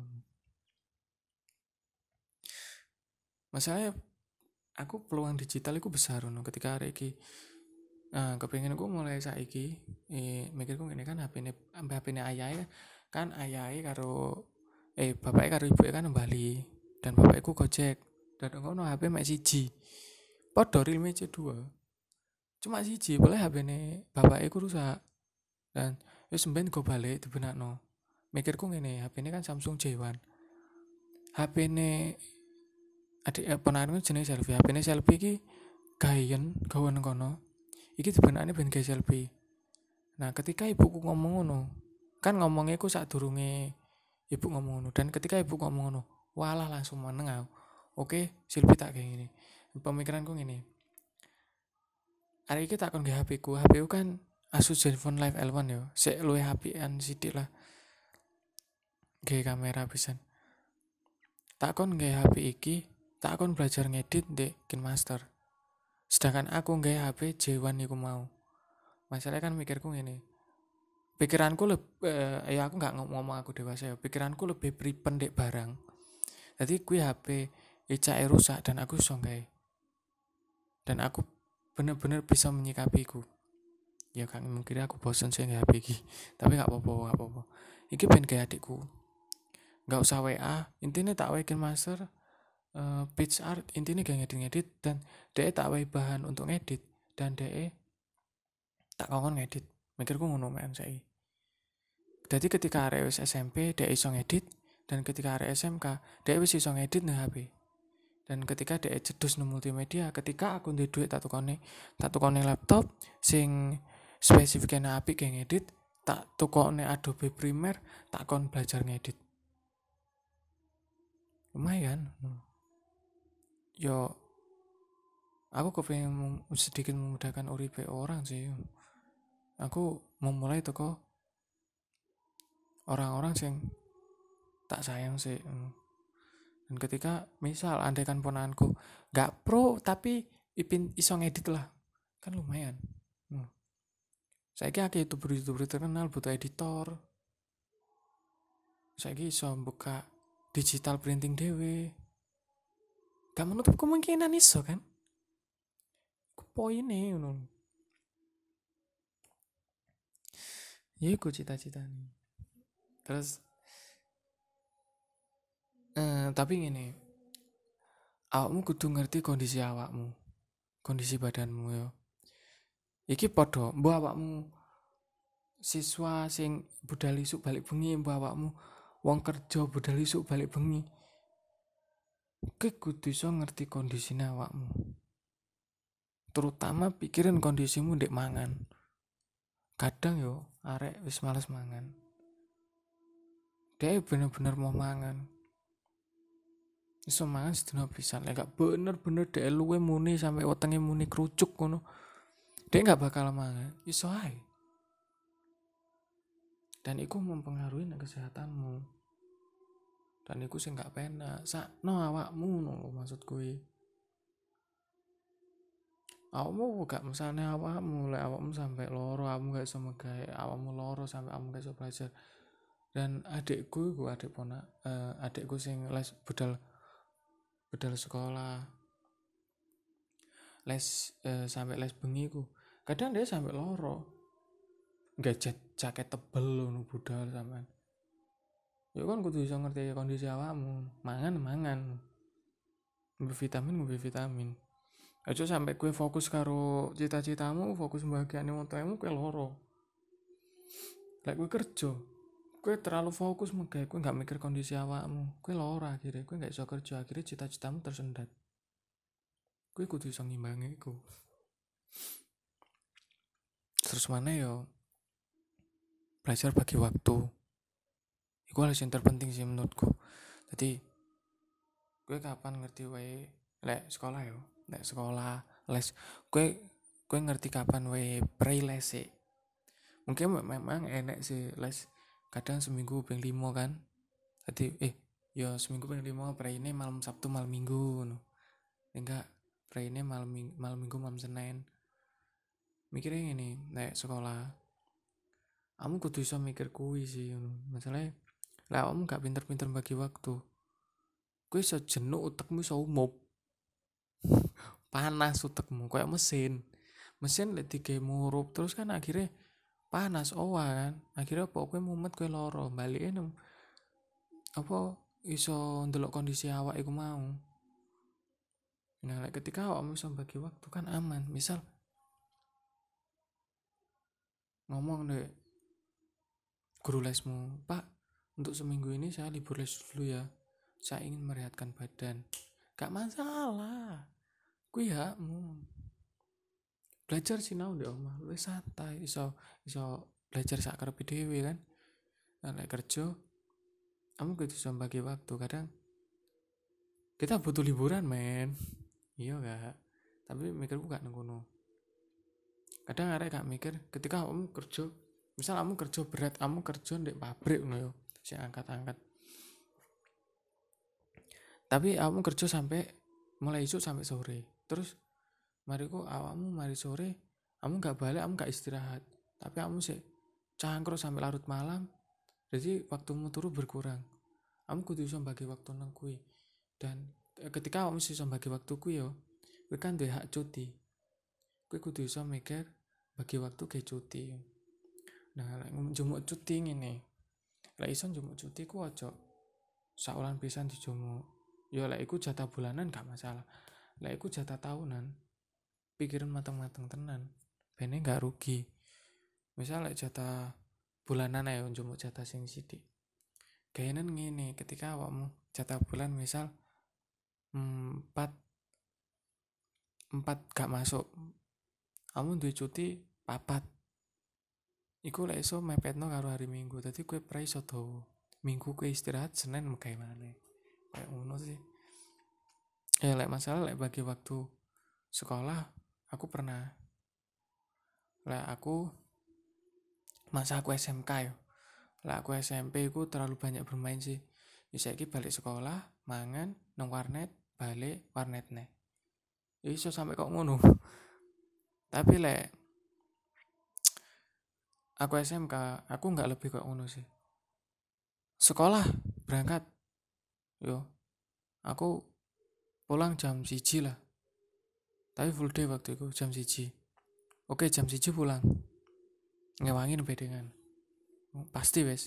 S1: Masalahnya aku peluang digital itu besar no, ketika hari ini. Kepengen aku mulai saiki mikirku ngene kan, HP ini ayah kan, ayah karo bapaknya karo ibu kan Bali, dan bapakku Gojek, dan ngono HP mek siji. Padha Realme C2. Cuma siji, boleh HP ini bapakku rusak. Dan wis mben go balik dibenakno. Mikirku ngene, HP ini kan Samsung J1. HP ini adik ponakanku jenenge Selfie. HP ini Selfie iki gawen kono. Iki dibenakne ben gawe selfie. Nah, ketika ibuku ngomong ngono, kan ngomongnya ku sadurunge ibu ngomong ngono, dan ketika ibu ngomong ngono, walah langsung meneng aku. Oke, selfie tak kayak gini. Pemikiranku ngene. Hari iki tak kon nggawe HP ku kan Asus Zenfone Live L1 yo. Sik luwih HP-an sithik lah. Gawe kamera pisan. Tak kon nggawe HP iki, tak kon belajar ngedit ndek KineMaster. Sedangkan aku nggawe HP J1 iku mau. Masalahnya kan mikirku ngene. pikiranku ya aku nggak ngomong aku dewasa ya, pikiranku lebih prependek barang. Jadi kui HP icake rusak dan aku iso gawe. Dan aku bener-bener bisa menyikapiku. Ya kan mungkin aku bosen sih nge HP iki. Tapi gak apa-apa. Iki ben kayak adikku. Gak usah WA, intinya tak wae master page art, intinya gak ngedit-ngedit dan DE tak wae bahan untuk ngedit dan DE tak kongkon ngedit. Mikirku ngono men saiki. Jadi ketika arek wis SMP DE iso ngedit dan ketika arek SMK DE wis iso ngedit nang HP. Dan ketika DE cedus nang multimedia, ketika aku duwe duit tak tukone laptop sing spesifiknya apik kayak ngedit, tak tukone Adobe Premiere, tak kon belajar ngedit. Lumayan. Yo aku kepengen sedikit memudahkan uripe orang sih. Aku memulai toko orang-orang sing tak sayang sih. Dan ketika misal andaikan ponakanku gak pro tapi iso ngedit lah, kan lumayan. Saiki akeh youtuber terkenal butuh editor. Saiki iso buka digital printing dhewe. Gak menutup kemungkinan iso kan? Poine ngono. Ya iku cita-citane. Terus tapi ngene. Awakmu kudu ngerti kondisi awakmu. Kondisi badanmu yo. Iki padha, mbok awakmu siswa sing budal isuk balik bengi, mbok awakmu wong kerja budal isuk balik bengi. Kowe kudu iso ngerti kondisine awakmu. Terutama pikirin kondisimu ndek mangan. Kadang yo arek wis males mangan. Dia bener-bener mau mangan. Iso mangan sedina pisan, lek gak bener-bener dhek luwe muni sampai wetenge muni kerucuk ngono. Dhek gak bakal mangan, iso ae. Dan iku mempengaruhi nek kesehatanmu. Dan iku sing gak penak. Sakno awakmu ngono maksud kuwi. Awakmu gak mesane awakmu, lek awakmu sampai loro, awakmu gak iso megawe, awakmu loro sampai awakmu gak iso belajar. Dan adikku iku adikku sing les budal sekolah les sampai les bengi ku kadang dia sampai loro nggak jaket tebel ngono budal sampean ya kan kudu iso ngerti kondisi awakmu mangan ngombe vitamin aja sampai kue fokus karo cita-citamu fokus bahagiane wong tuamu kue loro lek kue kerja kue terlalu fokus megawe kue nggak mikir kondisi awakmu kue loro akhirnya kue nggak iso kerja akhirnya cita-citamu tersendat. Kue kudu iso ngimbangi iku. Terus mana yo belajar bagi waktu. Iku hal yang terpenting sih menurutku. Jadi kue kapan ngerti wae lek sekolah yo, lek sekolah les kue ngerti kapan wae pre les sih. Mungkin memang enek sih les kadang seminggu ping 5 kan. Jadi yo seminggu ping 5 pre ini malam Sabtu malam Minggu no. Enggak pre ini malam Minggu malam Senin. Mikirnya gini, nek sekolah kamu kudu iso mikir kuwi sih masalahnya lah kamu gak pinter-pinter bagi waktu kuwi iso jenuh utekmu iso umup panas utekmu kayak mesin lek digawe murup terus kan akhirnya panas kan akhirnya apa kowe mumet kowe loro balike nang apa iso ndelok kondisi awak iku mau. Nah lek ketika awakmu iso bagi waktu kan aman. Misal ngomong deh guru lesmu, Pak, untuk seminggu ini saya libur les dulu ya. Saya ingin merehatkan badan. Gak masalah. Kuwi hakmu. Belajar sinau di omah, wis santai, iso belajar sak karepe dhewe kan. Nah, lek kerja, kamu kudu iso bagi waktu. Kadang kita butuh liburan, men. Iya gak? Tapi mikirku gak ngono. Kadang arek gak mikir ketika kamu kerja misal kamu kerja berat, kamu kerja di pabrik ngono yo, sing angkat-angkat. Tapi kamu kerja sampai mulai isuk sampai sore. Terus mari sore, kamu gak balik, kamu gak istirahat. Tapi kamu sih cangkruk sampai larut malam, jadi waktumu turu berkurang. Kamu kudu iso bagi waktu nang kuwi. Dan ketika kamu iso bagi waktu kuwi yo, kowe kan duwe hak cuti. Kowe kudu iso mikir bagi waktu ke cuti. Nah, lek njumuk cuti ngene. Lek iso njumuk cuti ku aja saulan pisan dijumuk. Yo lek iku jatah bulanan gak masalah. Lek iku jatah tahunan, pikirin mateng-mateng tenan. Bene gak rugi. Misal lek jatah bulanan ae njumuk jatah sing sithik. Gayanan ngene, ketika awakmu jatah bulan misal 4 gak masuk, kamu duwe cuti 4. Iku lek iso mepetno karo hari Minggu. Dadi kowe pra iso dawa. Minggu kowe istirahat, Senin megawe maneh. Kayak ngono sih. Ya lek masalah lek bagi waktu sekolah, aku pernah. Lek aku masa aku SMK yo. Lek aku SMP ku terlalu banyak bermain sih. Bisa iki balik sekolah, mangan, nang warnet, balik warnet neh. Ya iso sampai kok ngono. Tapi lek aku SMK, aku nggak lebih kok ngono sih. Sekolah, berangkat. Yo, aku pulang jam 1 lah. Tapi full day waktu itu jam 1. Oke, jam 1 pulang. Ngewangin bedengan. Pasti wes.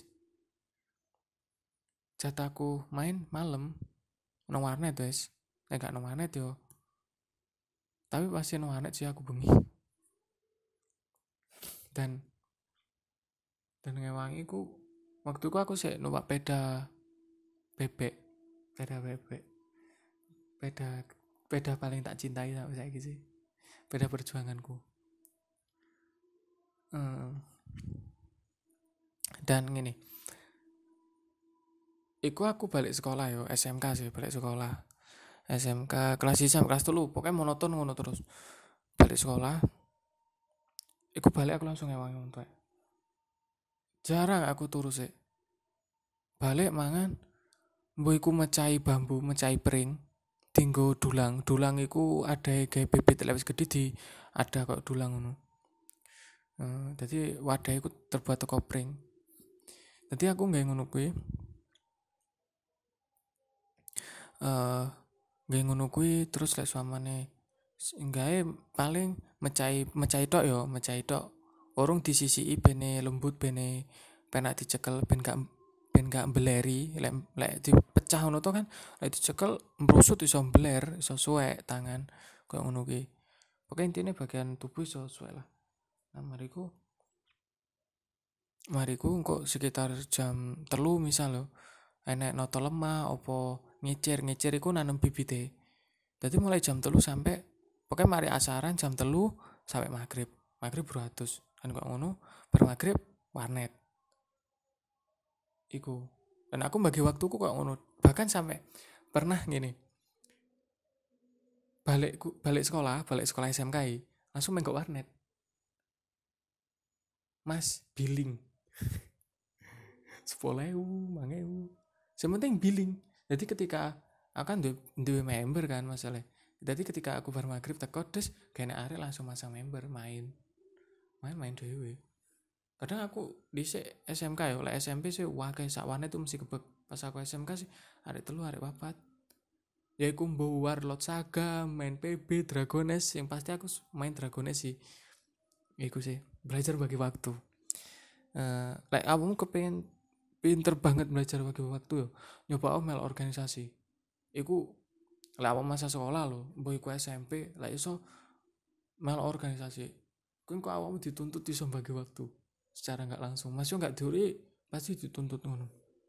S1: Jatahku main malam nang warnet wes. Nek gak nang warnet yo. Tapi pasti nang warnet sih aku bengi. Dan ngewangi ku waktu ku aku sih numpak peda bebek. Peda bebek. Peda paling tak cintai sampai saiki sih. Peda perjuanganku. Dan gini. Iku aku balik sekolah yo, SMK sih balik sekolah. SMK kelas 1 sampai kelas 3 pokoknya monoton ngono terus. Balik sekolah. Iku balik aku langsung ngewangi untuk. Jarang aku turu sih. Balik mangan mbok iku mecahi bambu, mecahi pring. Tinggo dulang. Dulang iku ada gawe bibit lek wis gede di ada kok dulang ngono. Jadi wadah iku terbuat teko pring. Jadi aku nggawe ngono kuwi. Nggawe ngono kuwi terus lek suamane nggawe paling mecahi tok yo, mecahi tok. Urung disisiki bene lembut bene penak dicekel ben gak mbeleri. Lek dipecah ngono to kan, lek dicekel mbrusut iso mbler, iso suwek tangan koyo ngono kuwi. Pokoke intine bagian tubuh iso suwek lah. Nah, mariku engko sekitar jam 3 misal lho. Enek noto lemah opo ngicir iku nanem bibite. Dadi mulai jam 3 sampai pokoknya mari asaran jam 3 sampai maghrib. Maghrib beratus. Kan kok ngono, bar maghrib warnet. Iku. Dan aku bagi waktuku kok ngono. Bahkan sampai pernah gini. Balik sekolah SMK langsung main ke warnet. Mas, billing. 10.000, 5.000. Sementing billing. Jadi ketika akan duwe member kan masalah. Jadi ketika aku bar maghrib teko terus kene arek langsung masang member main dhewe. Kadang aku di SMK ya, oleh SMP sih wakai sakwane itu mesti kebek. Pas aku SMK sih arek 3 arek 4. Ya iku mbo Warlord Saga, main PB, Dragones, yang pasti aku main Dragones sih. Iku sih, belajar bagi waktu. Like kamu kepengen pinter banget belajar bagi waktu yo. Nyoba mel organisasi. Iku lek masa sekolah lho, mbok iku SMP, lek iso mel organisasi. Kuwi kok awakmu dituntut iso bagi waktu secara enggak langsung. Mas yo enggak diuri pasti dituntut ngono.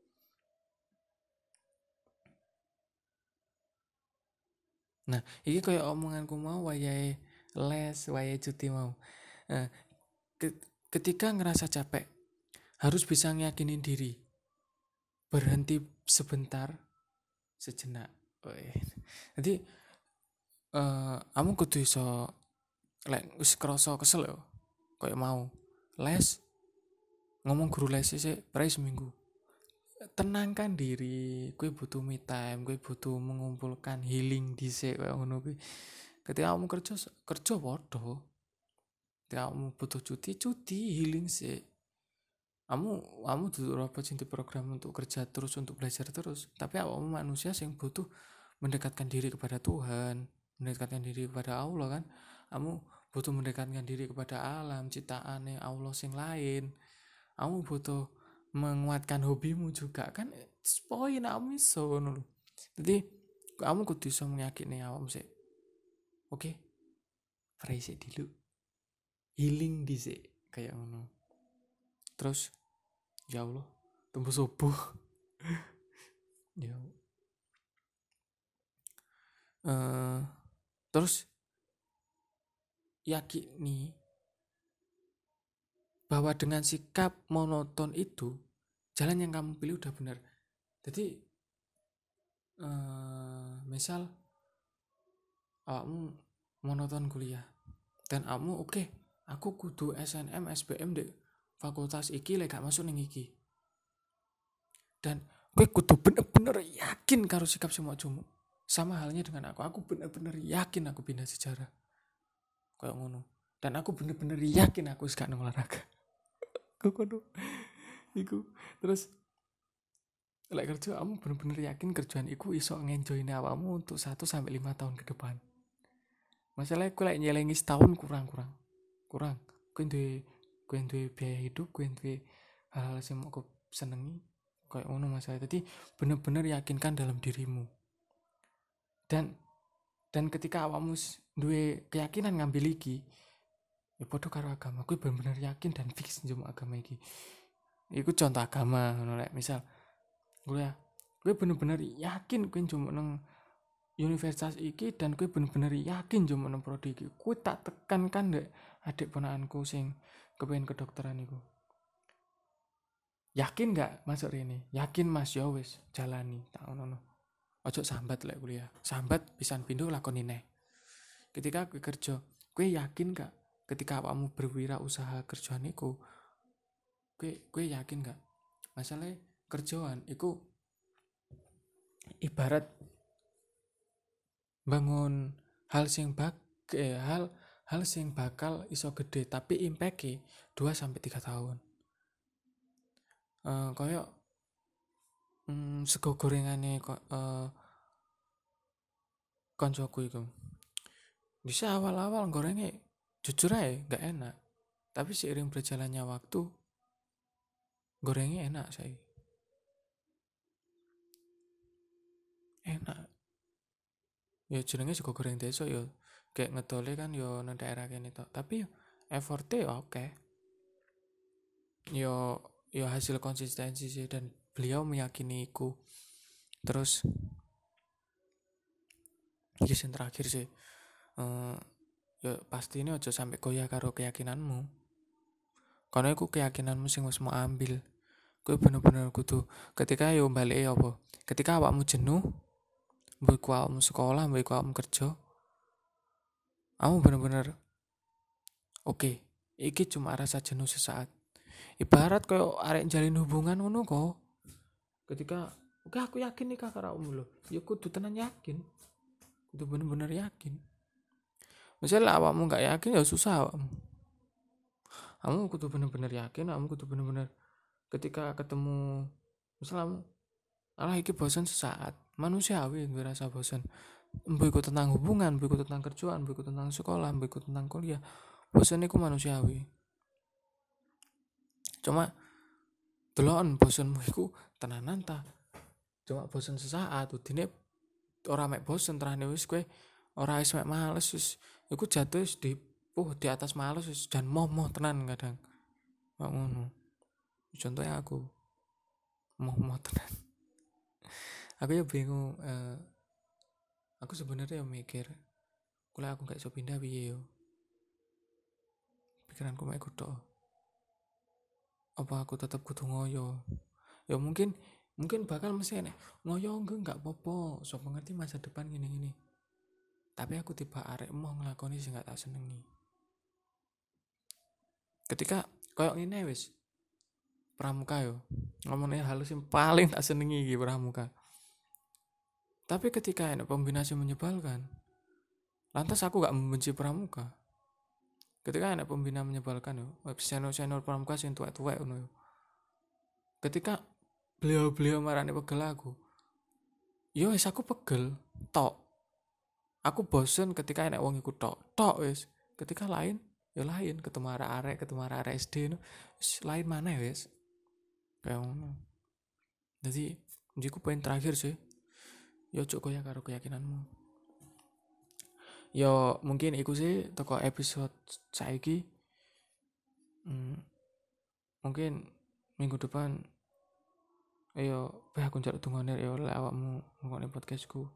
S1: Nah, iki koyo omonganku mau wayahe les, wayahe cuti mau. Nah, ketika ngerasa capek, harus bisa ngeyakinin diri. Berhenti sebentar, sejenak. Jadi kamu kudu iso lek wis krasa kesel yo. Koyo mau les ngomong guru les sih prai seminggu. Tenangkan diri, kue butuh me time, kue butuh mengumpulkan healing dhisik koyo ngono kuwi. Ketika kamu kerja padha. Ketika kamu butuh cuti healing sih. kamu duduk robot sing diprogram untuk kerja terus, untuk belajar terus, tapi awakmu manusia sing butuh mendekatkan diri kepada Tuhan, mendekatkan diri kepada Allah kan. Kamu butuh mendekatkan diri kepada alam ciptaane Allah sing lain. Kamu butuh menguatkan hobimu juga kan, poin kamu iso ngono lho. Jadi kamu kudu iso meyakini awakmu sih. Oke, fresh dulu, healing dhisik kayak ngono. Terus ya Allah, tembus subuh. Ya. Terus yakini bahwa dengan sikap monoton itu jalan yang kamu pilih udah benar. Jadi misal awakmu monoton kuliah dan kamu oke, aku kudu SNM SBM dek fakultas iki lek gak masuk ning iki. Dan kowe kudu bener-bener yakin karo sikap semua jumu. Sama halnya dengan aku bener-bener yakin aku pindah sejarah. Kayak ngono. Dan aku bener-bener yakin aku wis gak nang olahraga. Kono. Iku. Terus lek kerja kamu bener-bener yakin kerjaan iku iso ngenjoyne awakmu untuk 1 sampai 5 tahun ke depan. Masalahnya aku lek nyelengi setahun kurang. Kowe duwe biaya hidup, kowe duwe hal-hal sing mau kau senengi kayak ngono masalah. Jadi bener-bener yakinkan dalam dirimu. Dan ketika awakmu duwe keyakinan ngambil iki, ya padha karo agama, kowe bener-bener yakin dan fix njupuk agama iki. Iku contoh agama ngono lek misal kowe bener-bener yakin kowe njupuk nang universitas iki dan kowe bener-bener yakin njupuk nang prodi iki. Kowe tak tekankan dek adik ponakanku sing kepengin kedokteran iku. Yakin gak masuk rene? Yakin Mas, ya wis jalani tak ngono. Ojo sambat lek kuliah. Sambat pisan pindho lakoni neh. Ketika kowe kerja, kowe yakin gak ketika awakmu berwirausaha kerjaan iku, kowe yakin gak? Masalah kerjaan iku ibarat bangun hal sing hal sing bakal iso gede tapi impact-e 2 sampai 3 tahun. Kayak sego gorengane koncoku iku. Bisa awal-awal gorengnya jujur aja gak enak. Tapi seiring berjalannya waktu gorengnya enak saya. Enak. Ya jenenge sego goreng desa ya kayak ngedole kan ya nang daerah kene tok. Tapi effortnya oke. Ya hasil konsistensi sih dan beliau meyakini iku. Terus iki sing terakhir sih. Ya pasti ini aja sampai goyah karo keyakinanmu. Karena iku keyakinanmu sing wis mau ambil. Kowe bener-bener kudu ketika yo balik apa? Ketika awakmu jenuh, mbok awakmu sekolah, mbok awakmu kerja, kamu bener-bener oke, iki cuma rasa jenuh sesaat. Ibarat koyo arek jalin hubungan ngono kok. Ketika oke aku yakin nih karo awakmu lho. Ya kudu tenan yakin. Kudu bener-bener yakin. Misalnya awakmu gak yakin ya susah awakmu. Kamu kudu bener-bener yakin, kamu kudu bener-bener ketika ketemu misalnya alah iki bosan sesaat, manusiawi gue rasa bosan. Mbok iku tentang hubungan, mbok iku tentang kerjaan, mbok iku tentang sekolah, mbok iku tentang kuliah. Bosan iku manusiawi. Cuma deloken bosanmu iku tenanan ta. Cuma bosan sesaat, udine ora mek bosan terane wis kowe ora wis mek males wis iku jatuh wis di atas males wis dan moh tenan kadang. Kok ngono. Contohnya aku moh tenan. Aku ya bingung aku sebenarnya mikir kalau aku gak iso pindah piye yo. Pikiranku mek kudu. Apa aku tetap kudu ngoyo? Ya mungkin bakal mesti nek ngoyo enggak apa-apa, so mengerti masa depan gini-gini. Tapi aku tiba arek mau nglakoni sing gak tak senengi. Ketika koyo ngene wis pramuka yo. Ngomongnya halus yang paling tak senengi iki pramuka. Tapi ketika ada kombinasi menyebalkan, lantas aku gak membenci pramuka. Ketika ada pembina menyebalkan yo, senior pramuka sing tuwek-tuwek ngono yo. ketika beliau-beliau marani pegel aku, yo wis aku pegel tok. Aku bosen ketika enek wong iku tok wis. Ketika lain ya lain, ketemu arek-arek, ketemu arek SD no, wis lain mana wis. Kayak ngono. Jadi jiku poin terakhir sih. Yo cuk koyo karo keyakinanmu. Yo mungkin iku sih toko episode saiki. Mungkin minggu depan ayo aku njaluk dungane yo lek awakmu ngomongin podcastku.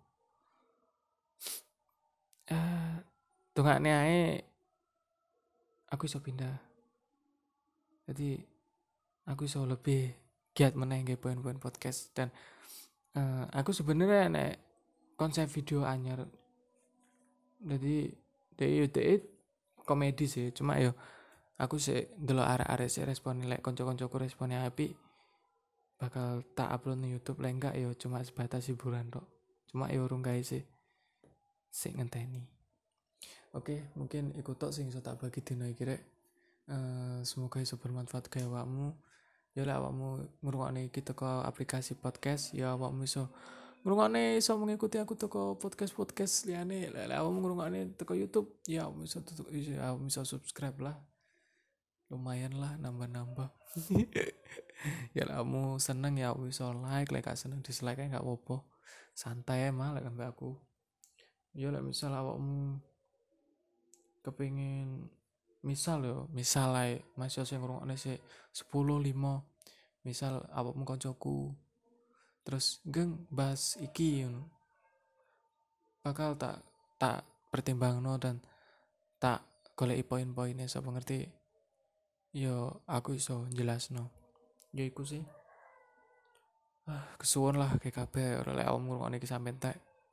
S1: Dongakne ae aku iso pindah. Jadi aku iso lebih giat meneh nggih poin-poin podcast dan aku sebenarnya nek konsep video anyar. Jadi DE komedi sih, cuma yo aku sih ndelok arek-arek sih respon lek kanca-kancaku responnya apik bakal tak upload di YouTube, lek enggak yo cuma sebatas hiburan tok. Cuma yo urung gawe sih ngenteni. Oke, mungkin iku tok sing iso tak bagi dina iki rek. Semoga iso bermanfaat kaya awakmu. Ya lek awakmu ngrungokne iki teko aplikasi podcast, ya awakmu iso ngrungokne, iso mengikuti aku teko podcast liyane. Lek awakmu ngrungokne teko YouTube, ya awakmu iso subscribe lah. Lumayan lah nambah-nambah. Ya lek awakmu seneng ya awakmu iso like, lek gak seneng dislike ae gak apa-apa. Santai emang lek ambek aku. Ya lek misal awakmu kepengin misal ae masih sing ngrungokne sik 10 5 misal awakmu koncoku terus geng bahas iki bakal tak pertimbangno dan tak goleki poin-poinnya sapa ngerti yo aku iso jelasno yo iku sih kesuwun lah kayak kabeh ora lek awakmu ngrungokne iki sampe entek.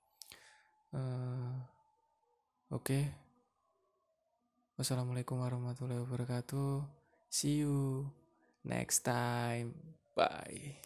S1: Oke. Wassalamualaikum warahmatullahi wabarakatuh. See you next time. Bye.